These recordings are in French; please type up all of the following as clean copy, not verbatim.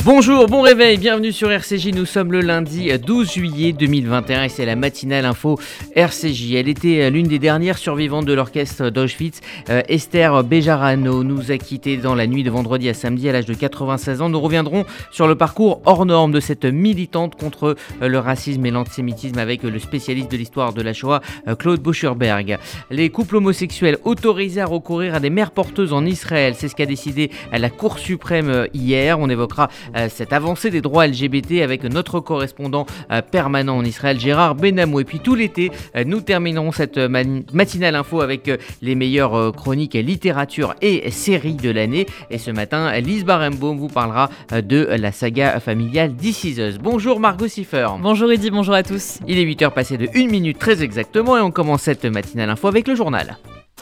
Bonjour, bon réveil, bienvenue sur RCJ, nous sommes le lundi 12 juillet 2021 et c'est la matinale info RCJ. Elle était l'une des dernières survivantes de l'orchestre d'Auschwitz. Esther Bejarano nous a quittés dans la nuit de vendredi à samedi à l'âge de 96 ans. Nous reviendrons sur le parcours hors norme de cette militante contre le racisme et l'antisémitisme avec le spécialiste de l'histoire de la Shoah, Claude Boucherberg. Les couples homosexuels autorisés à recourir à des mères porteuses en Israël, c'est ce qu'a décidé la Cour suprême hier. On évoquera cette avancée des droits LGBT avec notre correspondant permanent en Israël, Gérard Benamou. Et puis tout l'été, nous terminerons cette matinale info avec les meilleures chroniques littérature et séries de l'année. Et ce matin, Lise Barenbaum vous parlera de la saga familiale This Is Us. Bonjour Margot Siffer. Bonjour Eddy, bonjour à tous. Il est 8h passé de 1 minute très exactement et on commence cette matinale info avec le journal.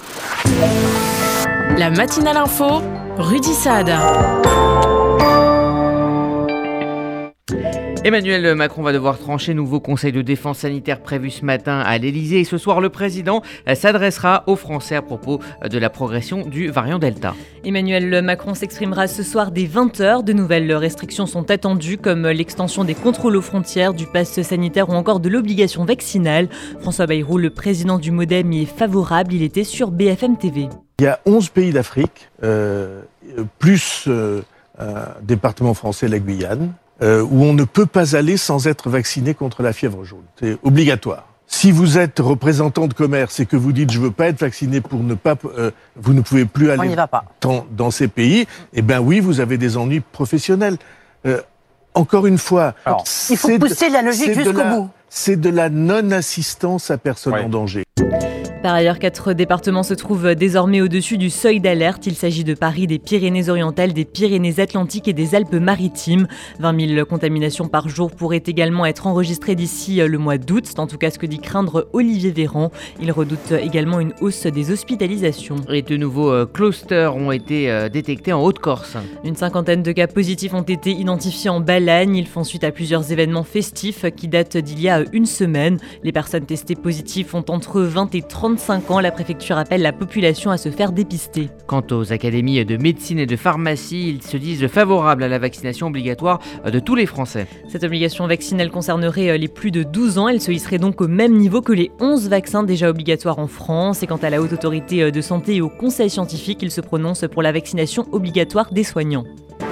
La matinale info, Rudy Saad. Emmanuel Macron va devoir trancher. Nouveau conseil de défense sanitaire prévu ce matin à l'Elysée. Et ce soir, le président s'adressera aux Français à propos de la progression du variant Delta. Emmanuel Macron s'exprimera ce soir dès 20h. De nouvelles restrictions sont attendues, comme l'extension des contrôles aux frontières, du pass sanitaire ou encore de l'obligation vaccinale. François Bayrou, le président du MoDem, y est favorable. Il était sur BFM TV. Il y a 11 pays d'Afrique, plus un département français, la Guyane, où on ne peut pas aller sans être vacciné contre la fièvre jaune. C'est obligatoire. Si vous êtes représentant de commerce et que vous dites « je veux pas être vacciné pour ne pas… vous ne pouvez plus aller dans ces pays », eh bien oui, vous avez des ennuis professionnels. Encore une fois… Alors, il faut pousser la logique jusqu'au bout. C'est de la non-assistance à personne en danger. Par ailleurs, 4 départements se trouvent désormais au-dessus du seuil d'alerte. Il s'agit de Paris, des Pyrénées-Orientales, des Pyrénées-Atlantiques et des Alpes-Maritimes. 20 000 contaminations par jour pourraient également être enregistrées d'ici le mois d'août. C'est en tout cas ce que dit craindre Olivier Véran. Il redoute également une hausse des hospitalisations. Et de nouveaux clusters ont été détectés en Haute-Corse. Une 50aine de cas positifs ont été identifiés en Balagne. Ils font suite à plusieurs événements festifs qui datent d'il y a une semaine. Les personnes testées positives ont entre 20 et 35 ans, la préfecture appelle la population à se faire dépister. Quant aux académies de médecine et de pharmacie, ils se disent favorables à la vaccination obligatoire de tous les Français. Cette obligation vaccinale concernerait les plus de 12 ans. Elle se hisserait donc au même niveau que les 11 vaccins déjà obligatoires en France. Et quant à la Haute Autorité de Santé et au Conseil scientifique, ils se prononcent pour la vaccination obligatoire des soignants.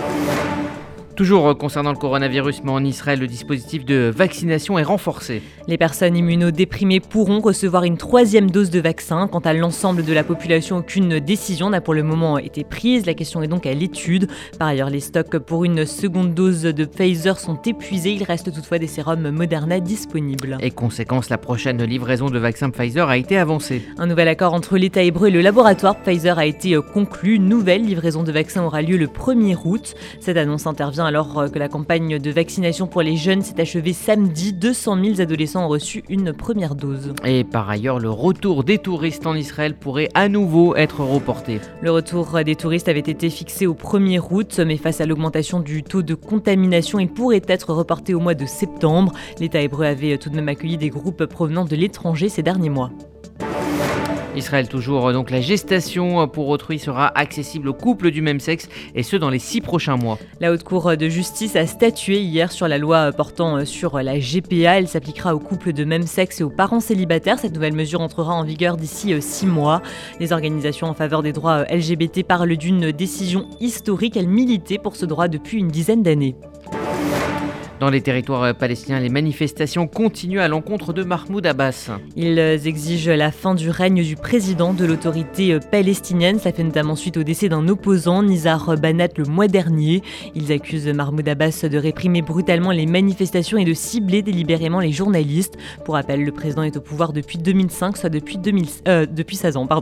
Toujours concernant le coronavirus, mais en Israël, le dispositif de vaccination est renforcé. Les personnes immunodéprimées pourront recevoir une 3e dose de vaccin. Quant à l'ensemble de la population, aucune décision n'a pour le moment été prise. La question est donc à l'étude. Par ailleurs, les stocks pour une seconde dose de Pfizer sont épuisés. Il reste toutefois des sérums Moderna disponibles. Et conséquence, la prochaine livraison de vaccins Pfizer a été avancée. Un nouvel accord entre l'État hébreu et le laboratoire Pfizer a été conclu. Nouvelle livraison de vaccins aura lieu le 1er août. Cette annonce intervient alors que la campagne de vaccination pour les jeunes s'est achevée samedi. 200 000 adolescents ont reçu une première dose. Et par ailleurs, le retour des touristes en Israël pourrait à nouveau être reporté. Le retour des touristes avait été fixé au 1er août, mais face à l'augmentation du taux de contamination, il pourrait être reporté au mois de septembre. L'État hébreu avait tout de même accueilli des groupes provenant de l'étranger ces derniers mois. Israël toujours, donc la gestation pour autrui sera accessible aux couples du même sexe et ce dans les 6 prochains mois. La Haute Cour de justice a statué hier sur la loi portant sur la GPA. Elle s'appliquera aux couples de même sexe et aux parents célibataires. Cette nouvelle mesure entrera en vigueur d'ici 6 mois. Les organisations en faveur des droits LGBT parlent d'une décision historique. Elles militaient pour ce droit depuis une dizaine d'années. Dans les territoires palestiniens, les manifestations continuent à l'encontre de Mahmoud Abbas. Ils exigent la fin du règne du président de l'autorité palestinienne. Ça fait notamment suite au décès d'un opposant, Nizar Banat, le mois dernier. Ils accusent Mahmoud Abbas de réprimer brutalement les manifestations et de cibler délibérément les journalistes. Pour rappel, le président est au pouvoir depuis 2005, soit depuis 16 ans.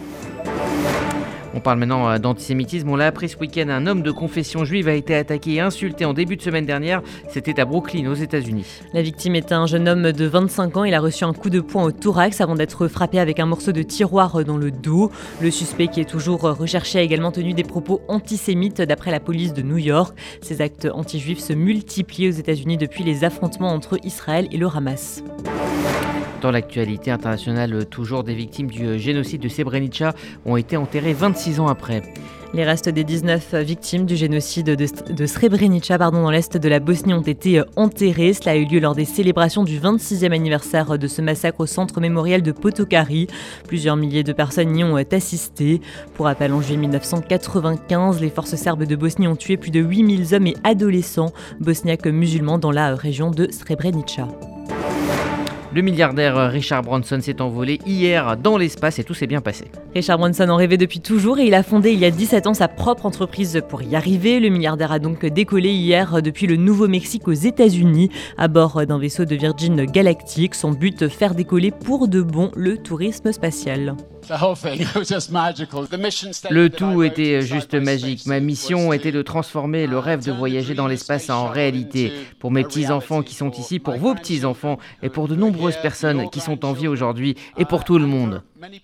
On parle maintenant d'antisémitisme. On l'a appris ce week-end, un homme de confession juive a été attaqué et insulté en début de semaine dernière. C'était à Brooklyn, aux États-Unis. La victime est un jeune homme de 25 ans. Il a reçu un coup de poing au thorax avant d'être frappé avec un morceau de tiroir dans le dos. Le suspect, qui est toujours recherché, a également tenu des propos antisémites d'après la police de New York. Ces actes anti-juifs se multiplient aux États-Unis depuis les affrontements entre Israël et le Hamas. Dans l'actualité internationale, toujours des victimes du génocide de Srebrenica ont été enterrées 26 ans après. Les restes des 19 victimes du génocide de Srebrenica dans l'est de la Bosnie ont été enterrés. Cela a eu lieu lors des célébrations du 26e anniversaire de ce massacre au centre mémorial de Potokari. Plusieurs milliers de personnes y ont assisté. Pour rappel, en juillet 1995, les forces serbes de Bosnie ont tué plus de 8000 hommes et adolescents bosniaques musulmans dans la région de Srebrenica. Le milliardaire Richard Branson s'est envolé hier dans l'espace et tout s'est bien passé. Richard Branson en rêvait depuis toujours et il a fondé il y a 17 ans sa propre entreprise pour y arriver. Le milliardaire a donc décollé hier depuis le Nouveau-Mexique aux États-Unis à bord d'un vaisseau de Virgin Galactic. Son but, faire décoller pour de bon le tourisme spatial. Le tout était juste magique. Ma mission était de transformer le rêve de voyager dans l'espace en réalité. Pour mes petits-enfants qui sont ici, pour vos petits-enfants et pour de nombreuses personnes qui sont en vie aujourd'hui et pour tout le monde.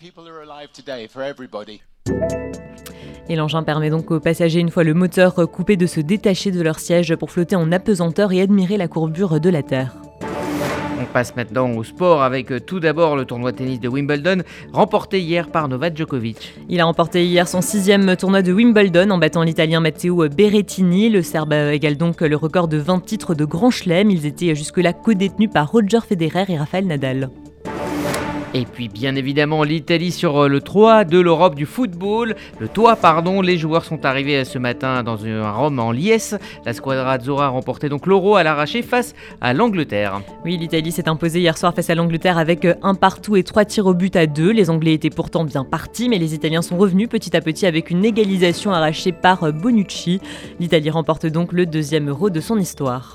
Et l'engin permet donc aux passagers, une fois le moteur coupé, de se détacher de leur siège pour flotter en apesanteur et admirer la courbure de la Terre. On passe maintenant au sport avec tout d'abord le tournoi de tennis de Wimbledon, remporté hier par Novak Djokovic. Il a remporté hier son 6e tournoi de Wimbledon en battant l'Italien Matteo Berrettini. Le Serbe égale donc le record de 20 titres de Grand Chelem. Ils étaient jusque-là co-détenus par Roger Federer et Rafael Nadal. Et puis bien évidemment l'Italie sur le toit de l'Europe du football. Les joueurs sont arrivés ce matin dans un Rome en liesse. La Squadra Azzurra a remporté donc l'Euro à l'arraché face à l'Angleterre. Oui, l'Italie s'est imposée hier soir face à l'Angleterre avec 1 partout et 3 tirs au but à 2. Les Anglais étaient pourtant bien partis, mais les Italiens sont revenus petit à petit avec une égalisation arrachée par Bonucci. L'Italie remporte donc le 2e Euro de son histoire.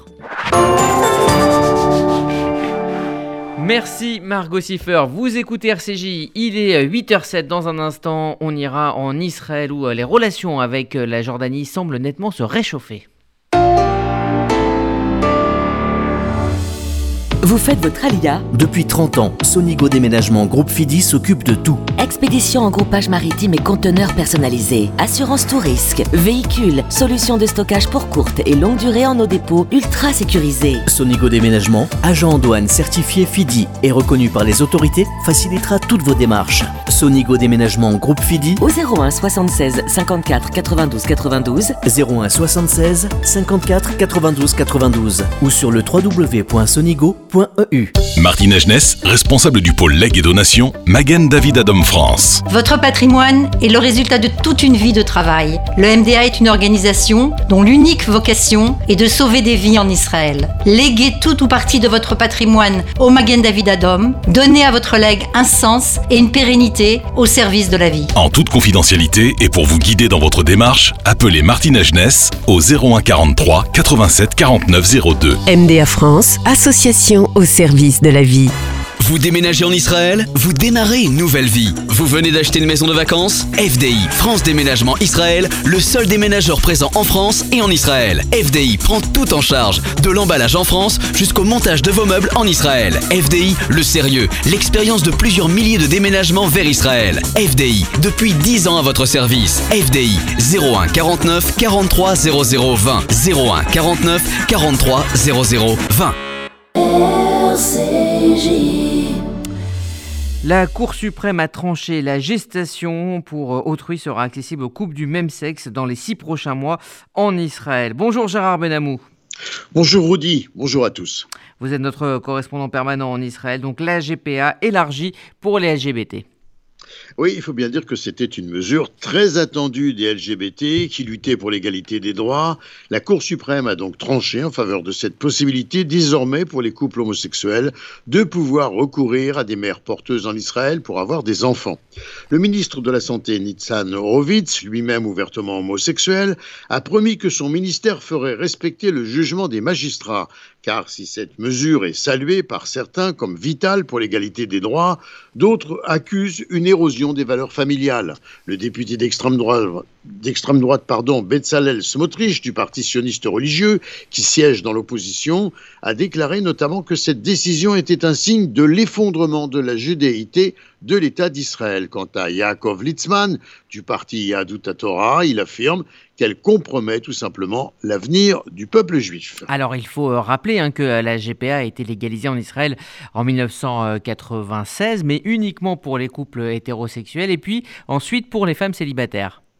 Merci Margot Siffer, vous écoutez RCJ, il est 8h07, dans un instant on ira en Israël où les relations avec la Jordanie semblent nettement se réchauffer. Vous faites votre Aliyah ? Depuis 30 ans, Sonigo Déménagement Groupe Fidi s'occupe de tout. Expédition en groupage maritime et conteneurs personnalisés, assurance tout risque, véhicules, solutions de stockage pour courte et longue durée en nos dépôts ultra sécurisés. Sonigo Déménagement, agent en douane certifié Fidi et reconnu par les autorités, facilitera toutes vos démarches. Sonigo Déménagement Groupe Fidi au 01 76 54 92 92, 01 76 54 92 92 ou sur le www.sonigo.eu. Martine Agenès, responsable du pôle legs et donations, Magen David Adom France. Votre patrimoine est le résultat de toute une vie de travail. Le MDA est une organisation dont l'unique vocation est de sauver des vies en Israël. Léguez tout ou partie de votre patrimoine au Magen David Adom. Donnez à votre legs un sens et une pérennité au service de la vie. En toute confidentialité et pour vous guider dans votre démarche, appelez Martine Agenès au 01 43 87 49 02. MDA France, association au service de la vie. Vous déménagez en Israël ? Vous démarrez une nouvelle vie. Vous venez d'acheter une maison de vacances ? FDI, France Déménagement Israël, le seul déménageur présent en France et en Israël. FDI prend tout en charge, de l'emballage en France jusqu'au montage de vos meubles en Israël. FDI, le sérieux, l'expérience de plusieurs milliers de déménagements vers Israël. FDI, depuis 10 ans à votre service. FDI, 01 49 43 00 20. 01 49 43 00 20. La Cour suprême a tranché, la gestation pour autrui sera accessible aux couples du même sexe dans les 6 prochains mois en Israël. Bonjour Gérard Benamou. Bonjour Rudy, bonjour à tous. Vous êtes notre correspondant permanent en Israël, donc la GPA élargie pour les LGBT. Oui, il faut bien dire que c'était une mesure très attendue des LGBT qui luttaient pour l'égalité des droits. La Cour suprême a donc tranché en faveur de cette possibilité désormais pour les couples homosexuels de pouvoir recourir à des mères porteuses en Israël pour avoir des enfants. Le ministre de la Santé, Nitzan Horowitz, lui-même ouvertement homosexuel, a promis que son ministère ferait respecter le jugement des magistrats. Car si cette mesure est saluée par certains comme vitale pour l'égalité des droits, d'autres accusent une érosion des valeurs familiales. Le député d'extrême droite, Bezalel Smotrich, du parti sioniste religieux, qui siège dans l'opposition, a déclaré notamment que cette décision était un signe de l'effondrement de la judéité de l'État d'Israël. Quant à Yaakov Litzman, du parti Yahadut HaTorah, il affirme qu'elle compromet tout simplement l'avenir du peuple juif. Alors il faut rappeler que la GPA a été légalisée en Israël en 1996, mais uniquement pour les couples hétérosexuels et puis ensuite pour les femmes célibataires.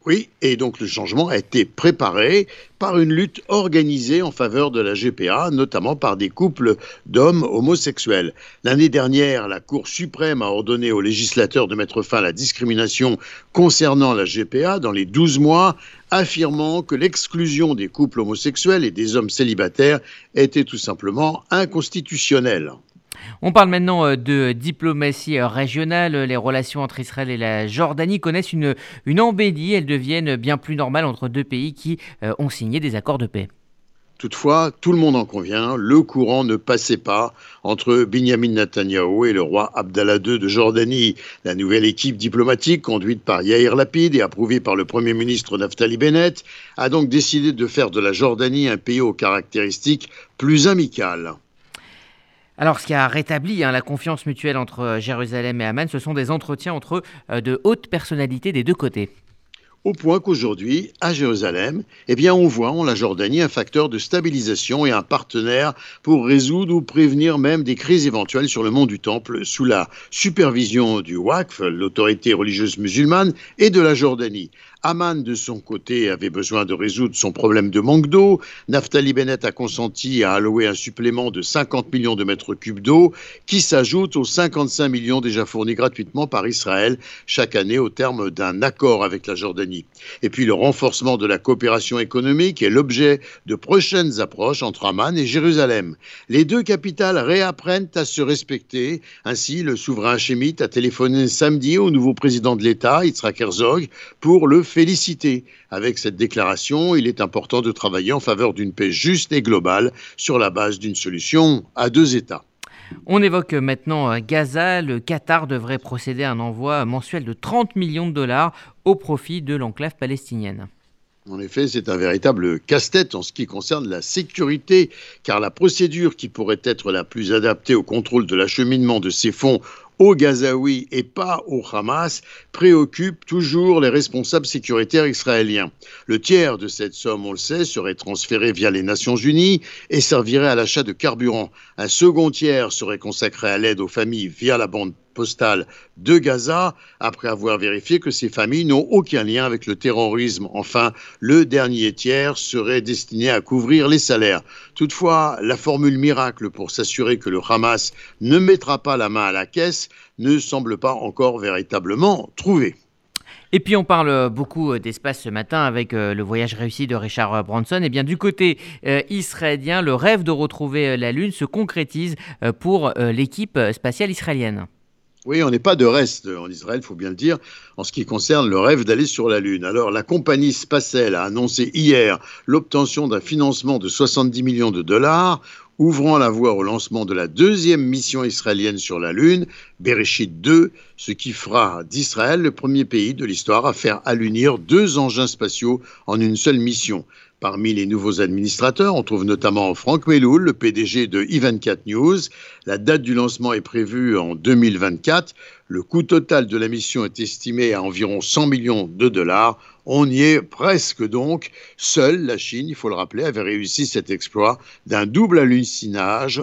Oui, et donc le changement a été préparé par une lutte organisée en faveur de la GPA, notamment par des couples d'hommes homosexuels. L'année dernière, la Cour suprême a ordonné aux législateurs de mettre fin à la discrimination concernant la GPA dans les 12 mois, affirmant que l'exclusion des couples homosexuels et des hommes célibataires était tout simplement inconstitutionnelle. On parle maintenant de diplomatie régionale. Les relations entre Israël et la Jordanie connaissent une embellie. Elles deviennent bien plus normales entre deux pays qui ont signé des accords de paix. Toutefois, tout le monde en convient, le courant ne passait pas entre Binyamin Netanyahou et le roi Abdallah II de Jordanie. La nouvelle équipe diplomatique, conduite par Yair Lapid et approuvée par le Premier ministre Naftali Bennett, a donc décidé de faire de la Jordanie un pays aux caractéristiques plus amicales. Alors, ce qui a rétabli la confiance mutuelle entre Jérusalem et Amman, ce sont des entretiens entre de hautes personnalités des deux côtés. Au point qu'aujourd'hui, à Jérusalem, on voit en la Jordanie un facteur de stabilisation et un partenaire pour résoudre ou prévenir même des crises éventuelles sur le mont du Temple sous la supervision du Waqf, l'autorité religieuse musulmane, et de la Jordanie. Amman, de son côté, avait besoin de résoudre son problème de manque d'eau. Naftali Bennett a consenti à allouer un supplément de 50 millions de mètres cubes d'eau qui s'ajoute aux 55 millions déjà fournis gratuitement par Israël chaque année au terme d'un accord avec la Jordanie. Et puis le renforcement de la coopération économique est l'objet de prochaines approches entre Amman et Jérusalem. Les deux capitales réapprennent à se respecter. Ainsi, le souverain hachémite a téléphoné samedi au nouveau président de l'État, Yitzhak Herzog, pour le féliciter. Avec cette déclaration, il est important de travailler en faveur d'une paix juste et globale sur la base d'une solution à deux États. On évoque maintenant Gaza. Le Qatar devrait procéder à un envoi mensuel de 30 millions de dollars au profit de l'enclave palestinienne. En effet, c'est un véritable casse-tête en ce qui concerne la sécurité, car la procédure qui pourrait être la plus adaptée au contrôle de l'acheminement de ces fonds aux Gazaouis et pas au Hamas préoccupe toujours les responsables sécuritaires israéliens. Le tiers de cette somme, on le sait, serait transféré via les Nations Unies et servirait à l'achat de carburant. Un second tiers serait consacré à l'aide aux familles via la bande postale de Gaza, après avoir vérifié que ces familles n'ont aucun lien avec le terrorisme. Enfin, le dernier tiers serait destiné à couvrir les salaires. Toutefois, la formule miracle pour s'assurer que le Hamas ne mettra pas la main à la caisse ne semble pas encore véritablement trouvée. Et puis on parle beaucoup d'espace ce matin avec le voyage réussi de Richard Branson. Et bien du côté israélien, le rêve de retrouver la Lune se concrétise pour l'équipe spatiale israélienne. Oui, on n'est pas de reste en Israël, il faut bien le dire, en ce qui concerne le rêve d'aller sur la Lune. Alors, la compagnie Spacell a annoncé hier l'obtention d'un financement de 70 millions de dollars, ouvrant la voie au lancement de la deuxième mission israélienne sur la Lune, Bereshit 2, ce qui fera d'Israël le premier pays de l'histoire à faire allunir 2 engins spatiaux en une seule mission. Parmi les nouveaux administrateurs, on trouve notamment Franck Meloul, le PDG de i24 News. La date du lancement est prévue en 2024. Le coût total de la mission est estimé à environ 100 millions de dollars. On y est presque donc. Seule la Chine, il faut le rappeler, avait réussi cet exploit d'un double alunissage,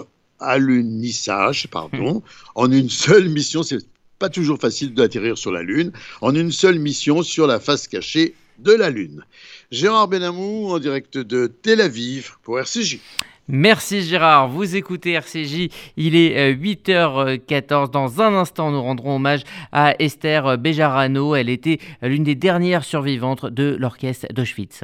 en une seule mission. C'est pas toujours facile d'atterrir sur la Lune. En une seule mission sur la face cachée de la Lune. Gérard Benamou en direct de Tel Aviv pour RCJ. Merci Gérard, vous écoutez RCJ, il est 8h14. Dans un instant, nous rendrons hommage à Esther Bejarano. Elle était l'une des dernières survivantes de l'orchestre d'Auschwitz.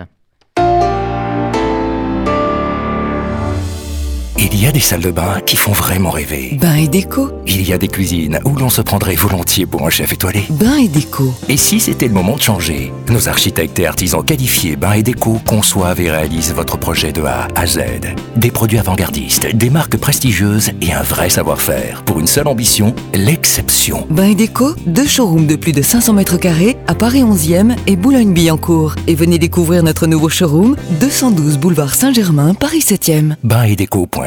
Il y a des salles de bain qui font vraiment rêver. Bain et déco. Il y a des cuisines où l'on se prendrait volontiers pour un chef étoilé. Bain et déco. Et si c'était le moment de changer? Nos architectes et artisans qualifiés Bain et Déco conçoivent et réalisent votre projet de A à Z. Des produits avant-gardistes, des marques prestigieuses et un vrai savoir-faire. Pour une seule ambition, l'exception. Bain et Déco, 2 showrooms de plus de 500 mètres carrés à Paris 11e et Boulogne-Billancourt. Et venez découvrir notre nouveau showroom, 212 boulevard Saint-Germain, Paris 7e. Bainetdeco.fr.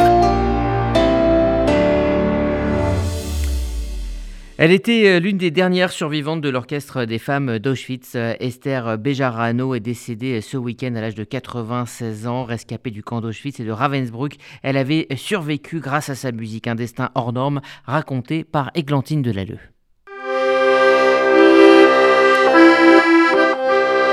Elle était l'une des dernières survivantes de l'orchestre des femmes d'Auschwitz. Esther Bejarano est décédée ce week-end à l'âge de 96 ans, rescapée du camp d'Auschwitz et de Ravensbrück. Elle avait survécu grâce à sa musique, un destin hors norme raconté par Églantine Delalleux.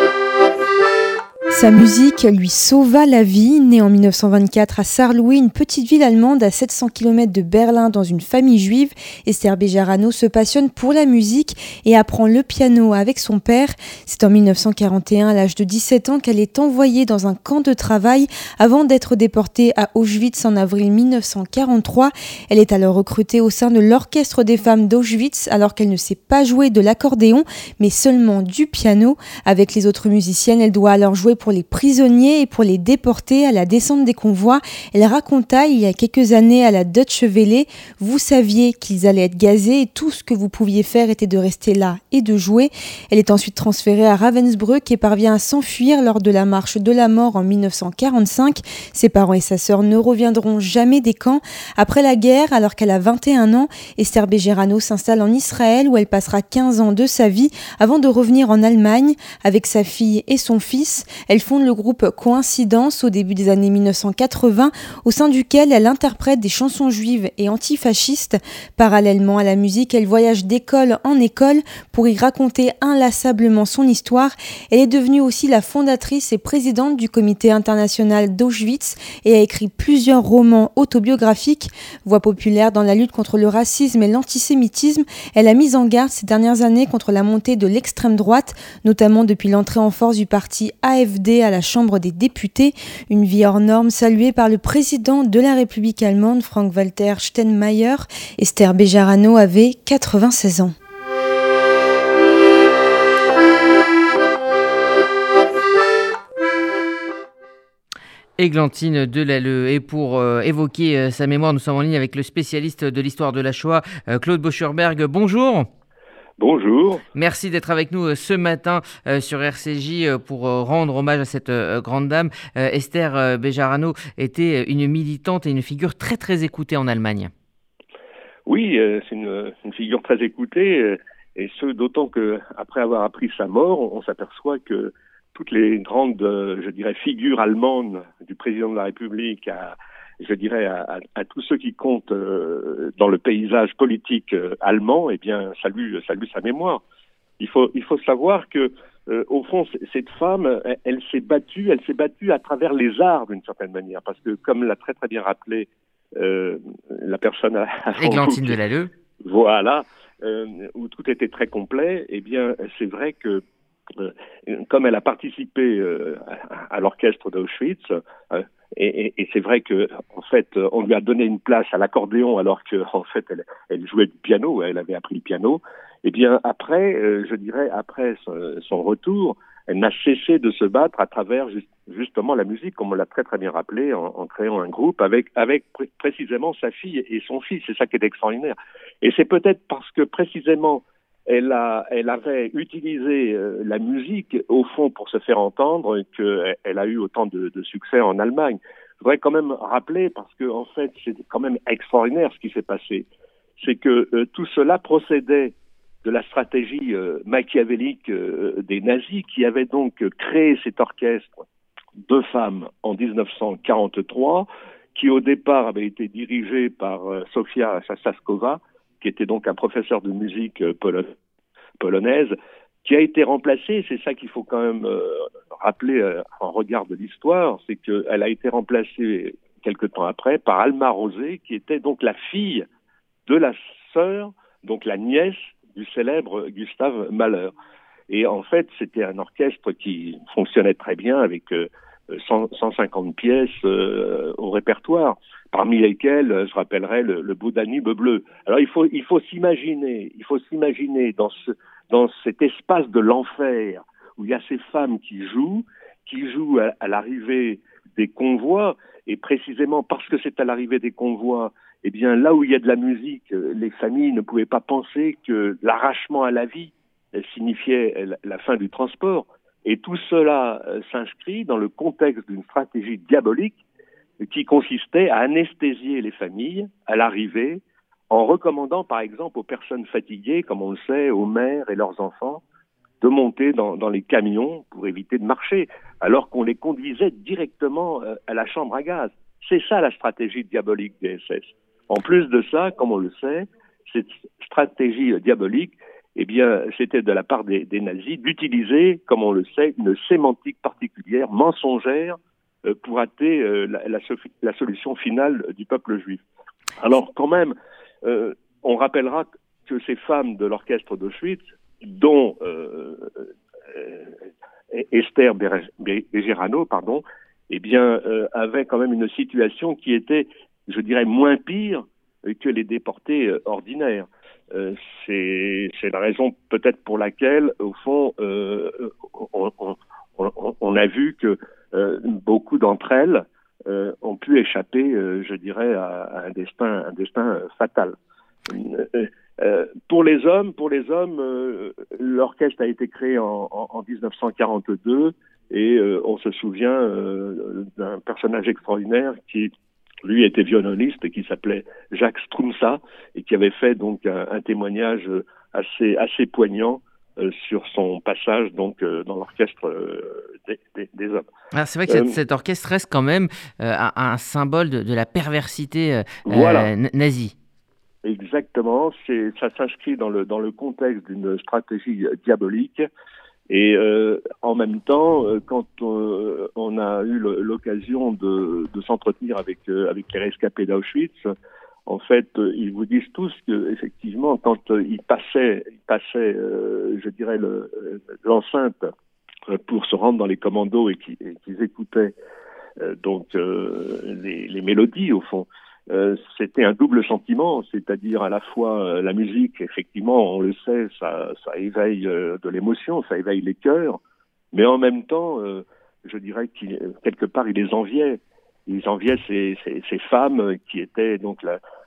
Sa musique lui sauva la vie. Née en 1924 à Saarlouis, une petite ville allemande à 700 km de Berlin dans une famille juive, Esther Bejarano se passionne pour la musique et apprend le piano avec son père. C'est en 1941, à l'âge de 17 ans, qu'elle est envoyée dans un camp de travail avant d'être déportée à Auschwitz en avril 1943. Elle est alors recrutée au sein de l'Orchestre des femmes d'Auschwitz alors qu'elle ne sait pas jouer de l'accordéon mais seulement du piano. Avec les autres musiciennes, elle doit alors jouer pour les prisonniers et pour les déportés à la descente des convois. Elle raconta il y a quelques années à la Deutsche Welle: vous saviez qu'ils allaient être gazés et tout ce que vous pouviez faire était de rester là et de jouer. Elle est ensuite transférée à Ravensbrück et parvient à s'enfuir lors de la marche de la mort en 1945. Ses parents et sa sœur ne reviendront jamais des camps. Après la guerre, alors qu'elle a 21 ans, Esther Bejarano s'installe en Israël où elle passera 15 ans de sa vie avant de revenir en Allemagne. Avec sa fille et son fils, elle fonde le groupe Coïncidence au début des années 1980, au sein duquel elle interprète des chansons juives et antifascistes. Parallèlement à la musique, elle voyage d'école en école pour y raconter inlassablement son histoire. Elle est devenue aussi la fondatrice et présidente du comité international d'Auschwitz et a écrit plusieurs romans autobiographiques. Voix populaire dans la lutte contre le racisme et l'antisémitisme, elle a mis en garde ces dernières années contre la montée de l'extrême droite, notamment depuis l'entrée en force du parti AfD à la Chambre des députés. Une vie hors norme saluée par le président de la République allemande, Frank-Walter Steinmeier. Esther Bejarano avait 96 ans. Églantine Delalleux. Et pour évoquer sa mémoire, nous sommes en ligne avec le spécialiste de l'histoire de la Shoah, Claude Boschurberg. Bonjour. Bonjour. Merci d'être avec nous ce matin sur RCJ pour rendre hommage à cette grande dame. Esther Bejarano était une militante et une figure très très écoutée en Allemagne. Oui, c'est une figure très écoutée, et ce d'autant qu'après avoir appris sa mort, on s'aperçoit que toutes les grandes, je dirais, figures allemandes, du président de la République à tous ceux qui comptent dans le paysage politique allemand, eh bien, saluent sa mémoire. Il faut savoir que, au fond, cette femme, elle s'est battue à travers les arts d'une certaine manière, parce que, comme l'a très très bien rappelé la personne à Églantine Delalleux. Voilà, où tout était très complet. Eh bien, c'est vrai que comme elle a participé à l'orchestre d'Auschwitz, et c'est vrai que en fait on lui a donné une place à l'accordéon alors que en fait elle jouait du piano, elle avait appris le piano. Et bien après, après son retour, elle n'a cessé de se battre à travers justement la musique, comme on l'a très très bien rappelé, en créant un groupe avec précisément sa fille et son fils. C'est ça qui est extraordinaire. Et c'est peut-être parce que précisément elle avait utilisé la musique, au fond, pour se faire entendre, qu'elle a eu autant de succès en Allemagne. Je voudrais quand même rappeler, parce que en fait, c'est quand même extraordinaire ce qui s'est passé, c'est que tout cela procédait de la stratégie machiavélique des nazis, qui avaient donc créé cet orchestre de femmes en 1943, qui au départ avait été dirigé par Sofia Sasaskova, qui était donc un professeur de musique polonaise, qui a été remplacé, c'est ça qu'il faut quand même rappeler en regard de l'histoire, c'est qu'elle a été remplacée quelque temps après par Alma Rosé, qui était donc la fille de la sœur, donc la nièce du célèbre Gustav Mahler. Et en fait, c'était un orchestre qui fonctionnait très bien avec 150 pièces au répertoire, parmi lesquelles je rappellerai le Beau Danube bleu. Alors il faut s'imaginer dans cet espace de l'enfer où il y a ces femmes qui jouent à l'arrivée des convois, et précisément parce que c'est à l'arrivée des convois, eh bien là où il y a de la musique, les familles ne pouvaient pas penser que l'arrachement à la vie signifiait la fin du transport. Et tout cela s'inscrit dans le contexte d'une stratégie diabolique qui consistait à anesthésier les familles à l'arrivée, en recommandant par exemple aux personnes fatiguées, comme on le sait, aux mères et leurs enfants, de monter dans les camions pour éviter de marcher, alors qu'on les conduisait directement à la chambre à gaz. C'est ça la stratégie diabolique des SS. En plus de ça, comme on le sait, cette stratégie diabolique eh bien, c'était de la part des nazis d'utiliser, comme on le sait, une sémantique particulière, mensongère, pour hâter la solution finale du peuple juif. Alors, quand même, on rappellera que ces femmes de l'orchestre d'Auschwitz, dont Esther Bejarano, eh bien, avaient quand même une situation qui était, je dirais, moins pire que les déportés ordinaires. C'est la raison peut-être pour laquelle, au fond, on a vu que beaucoup d'entre elles ont pu échapper, je dirais, à un destin fatal. Pour les hommes, l'orchestre a été créé en 1942 et on se souvient d'un personnage extraordinaire qui, lui, était violoniste et qui s'appelait Jacques Strumsa et qui avait fait donc un témoignage assez poignant sur son passage donc dans l'orchestre des hommes. Alors c'est vrai que cet orchestre reste quand même un symbole de la perversité nazie. Exactement, ça s'inscrit dans le contexte d'une stratégie diabolique. Et en même temps, quand on a eu l'occasion de s'entretenir avec les rescapés d'Auschwitz, en fait, ils vous disent tous que effectivement, quand ils passaient, je dirais, l'enceinte pour se rendre dans les commandos et qu'ils écoutaient les mélodies au fond. C'était un double sentiment, c'est-à-dire à la fois la musique, effectivement, on le sait, ça éveille de l'émotion, ça éveille les cœurs, mais en même temps, je dirais qu'il quelque part, ils les enviaient. Ils enviaient ces femmes qui étaient donc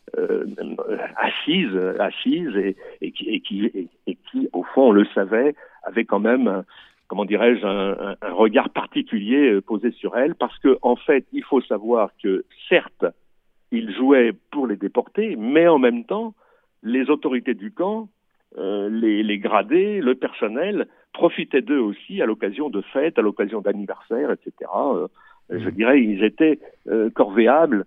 assises et qui, au fond, on le savait, avaient quand même, comment dirais-je, un regard particulier posé sur elles, parce que en fait, il faut savoir que certes, ils jouaient pour les déportés, mais en même temps, les autorités du camp, les gradés, le personnel, profitaient d'eux aussi à l'occasion de fêtes, à l'occasion d'anniversaires, etc. Je dirais, ils étaient corvéables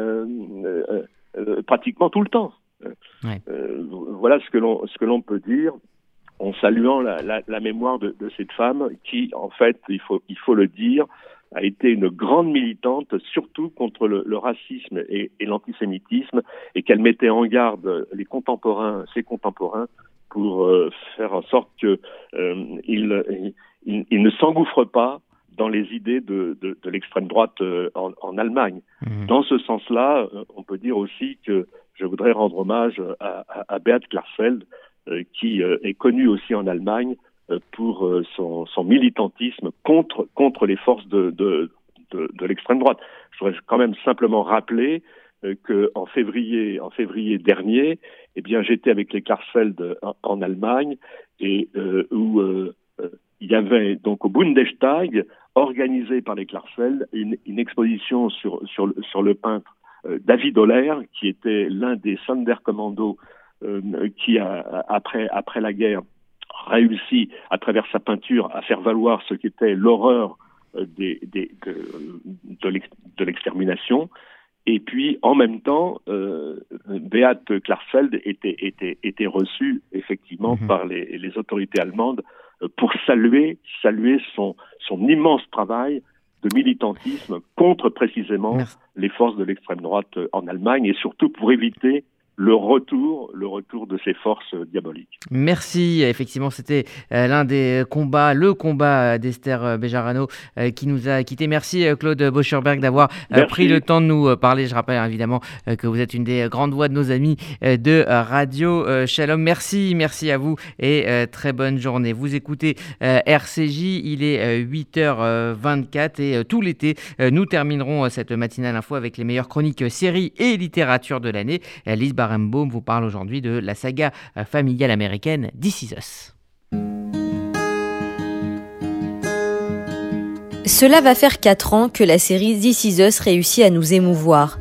pratiquement tout le temps. Ouais. Voilà ce que l'on peut dire en saluant la mémoire de cette femme qui, en fait, il faut le dire, a été une grande militante, surtout contre le racisme et l'antisémitisme, et qu'elle mettait en garde ses contemporains, pour faire en sorte qu'ils ne s'engouffrent pas dans les idées de l'extrême droite en Allemagne. Mmh. Dans ce sens-là, on peut dire aussi que je voudrais rendre hommage à Beat Klarsfeld, qui est connue aussi en Allemagne pour son militantisme contre les forces de l'extrême droite. Je voudrais quand même simplement rappeler qu'en février dernier, eh bien, j'étais avec les Klarsfeld en Allemagne et où il y avait donc au Bundestag, organisé par les Klarsfeld, une exposition sur le peintre David Holler, qui était l'un des Sonderkommando qui a après la guerre réussi, à travers sa peinture, à faire valoir ce qu'était l'horreur de l'extermination. Et puis, en même temps, Beat Klarsfeld était reçu, effectivement, par les autorités allemandes pour saluer son immense travail de militantisme contre, précisément, les forces de l'extrême droite en Allemagne, et surtout pour éviter le retour de ces forces diaboliques. Merci. Effectivement, c'était l'un des combats, le combat d'Esther Bejarano qui nous a quittés. Merci Claude Boscherberg d'avoir pris le temps de nous parler. Je rappelle évidemment que vous êtes une des grandes voix de nos amis de Radio Shalom. Merci à vous et très bonne journée. Vous écoutez RCJ, il est 8h24 et tout l'été, nous terminerons cette matinale info avec les meilleures chroniques séries et littérature de l'année. Lise Barenbaum vous parle aujourd'hui de la saga familiale américaine This Is Us. Cela va faire 4 ans que la série This Is Us réussit à nous émouvoir.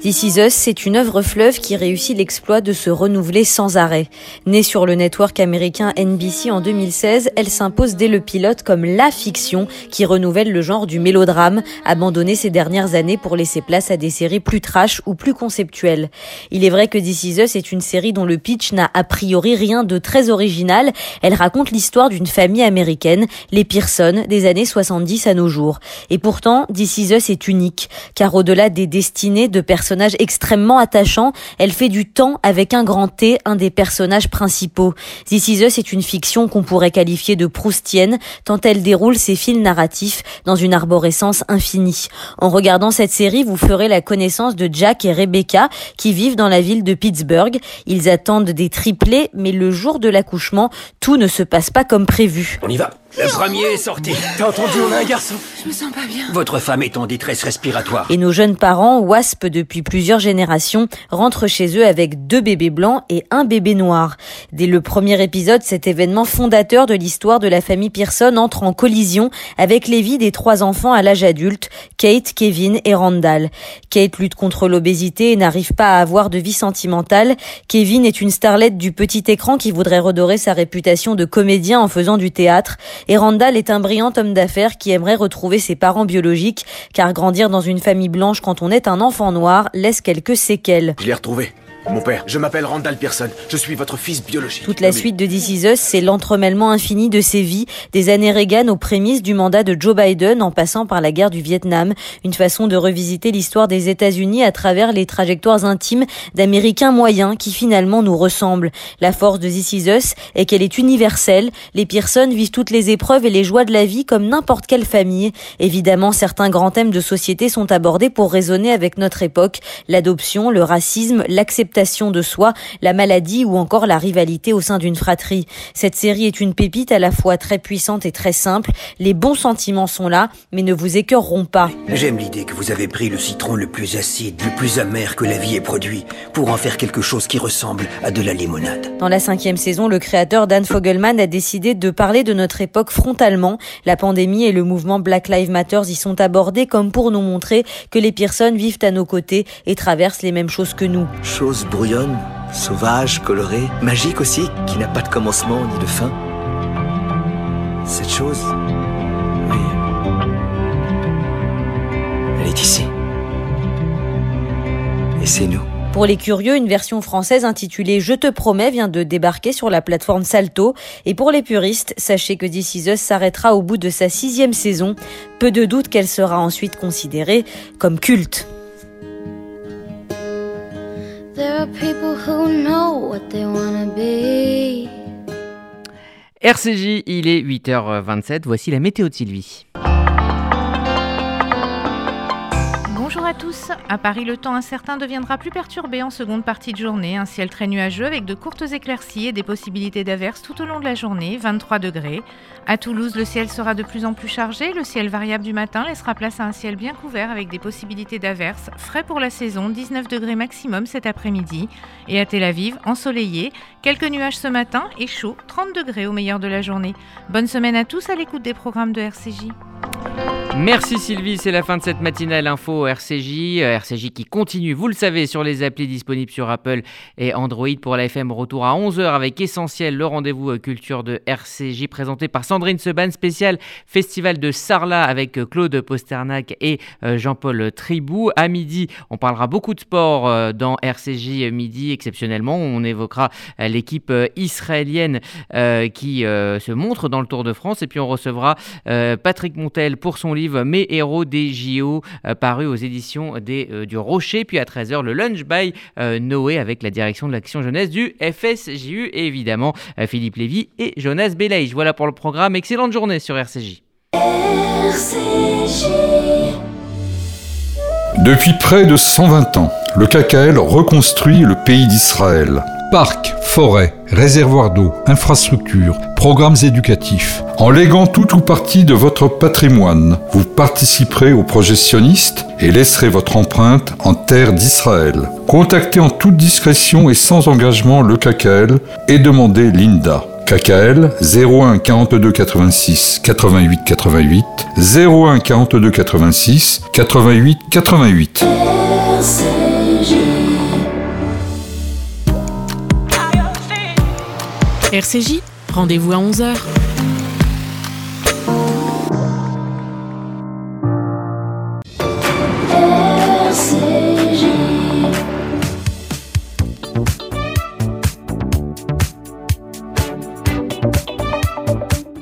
This Is Us, c'est une œuvre fleuve qui réussit l'exploit de se renouveler sans arrêt. Née sur le network américain NBC en 2016, elle s'impose dès le pilote comme la fiction qui renouvelle le genre du mélodrame, abandonné ces dernières années pour laisser place à des séries plus trash ou plus conceptuelles. Il est vrai que This Is Us est une série dont le pitch n'a a priori rien de très original. Elle raconte l'histoire d'une famille américaine, les Pearson, des années 70 à nos jours. Et pourtant, This Is Us est unique, car au-delà des destinées de personnage extrêmement attachant, elle fait du temps avec un grand T, un des personnages principaux. This Is Us est une fiction qu'on pourrait qualifier de proustienne, tant elle déroule ses fils narratifs dans une arborescence infinie. En regardant cette série, vous ferez la connaissance de Jack et Rebecca, qui vivent dans la ville de Pittsburgh. Ils attendent des triplés, mais le jour de l'accouchement, tout ne se passe pas comme prévu. On y va. Le premier est sorti. T'as entendu, on a un garçon. Je me sens pas bien. Votre femme est en détresse respiratoire. Et nos jeunes parents, WASP depuis plusieurs générations, rentrent chez eux avec 2 bébés blancs et un bébé noir. Dès le premier épisode, cet événement fondateur de l'histoire de la famille Pearson entre en collision avec les vies des 3 enfants à l'âge adulte, Kate, Kevin et Randall. Kate lutte contre l'obésité et n'arrive pas à avoir de vie sentimentale. Kevin est une starlette du petit écran qui voudrait redorer sa réputation de comédien en faisant du théâtre. Et Randall est un brillant homme d'affaires qui aimerait retrouver ses parents biologiques, car grandir dans une famille blanche quand on est un enfant noir laisse quelques séquelles. Je l'ai retrouvé. Mon père, je m'appelle Randall Pearson, je suis votre fils biologique. Toute la suite de This Is Us, c'est l'entremêlement infini de ces vies, des années Reagan aux prémices du mandat de Joe Biden en passant par la guerre du Vietnam, une façon de revisiter l'histoire des États-Unis à travers les trajectoires intimes d'Américains moyens qui finalement nous ressemblent. La force de This Is Us est qu'elle est universelle, les Pearson vivent toutes les épreuves et les joies de la vie comme n'importe quelle famille. Évidemment, certains grands thèmes de société sont abordés pour raisonner avec notre époque, l'adoption, le racisme, l'acceptation de soi, la maladie ou encore la rivalité au sein d'une fratrie. Cette série est une pépite à la fois très puissante et très simple. Les bons sentiments sont là, mais ne vous écœureront pas. J'aime l'idée que vous avez pris le citron le plus acide, le plus amer que la vie ait produit, pour en faire quelque chose qui ressemble à de la limonade. Dans la 5e saison, le créateur Dan Fogelman a décidé de parler de notre époque frontalement. La pandémie et le mouvement Black Lives Matter y sont abordés comme pour nous montrer que les Pearson vivent à nos côtés et traversent les mêmes choses que nous. Chose brouillonne, sauvage, colorée, magique aussi, qui n'a pas de commencement ni de fin. Cette chose, oui, elle est ici. Et c'est nous. Pour les curieux, une version française intitulée « Je te promets » vient de débarquer sur la plateforme Salto. Et pour les puristes, sachez que This Is Us s'arrêtera au bout de sa 6e saison. Peu de doute qu'elle sera ensuite considérée comme culte. There are people who know what they wanna be. RCJ, il est 8h27, voici la météo de Sylvie. Bonjour à tous. À Paris, le temps incertain deviendra plus perturbé en seconde partie de journée. Un ciel très nuageux avec de courtes éclaircies et des possibilités d'averses tout au long de la journée, 23 degrés. À Toulouse, le ciel sera de plus en plus chargé. Le ciel variable du matin laissera place à un ciel bien couvert avec des possibilités d'averses. Frais pour la saison, 19 degrés maximum cet après-midi. Et à Tel Aviv, ensoleillé, quelques nuages ce matin et chaud, 30 degrés au meilleur de la journée. Bonne semaine à tous à l'écoute des programmes de RCJ. Merci Sylvie, c'est la fin de cette matinale info RCJ qui continue, vous le savez, sur les applis disponibles sur Apple et Android. Pour la FM, retour à 11h avec Essentiel, le rendez-vous culture de RCJ présenté par Sandrine Seban, spécial festival de Sarlat avec Claude Posternac et Jean-Paul Tribou. À midi, on parlera beaucoup de sport dans RCJ midi, exceptionnellement. On évoquera l'équipe israélienne qui se montre dans le Tour de France et puis on recevra Patrick Montel pour son livre Mes héros des JO, paru aux éditions du Rocher. Puis à 13h, le Lunch by Noé avec la direction de l'action jeunesse du FSJU et évidemment Philippe Lévy et Jonas Belaïch. Voilà pour le programme. Excellente journée sur RCJ. Depuis près de 120 ans, le KKL reconstruit le pays d'Israël. Parcs, forêts, réservoirs d'eau, infrastructures, programmes éducatifs. En léguant tout ou partie de votre patrimoine, vous participerez au projet sioniste et laisserez votre empreinte en terre d'Israël. Contactez en toute discrétion et sans engagement le KKL et demandez l'INDA. KKL 01 42 86 88 88 01 42 86 88 88. RCJ, rendez-vous à 11h.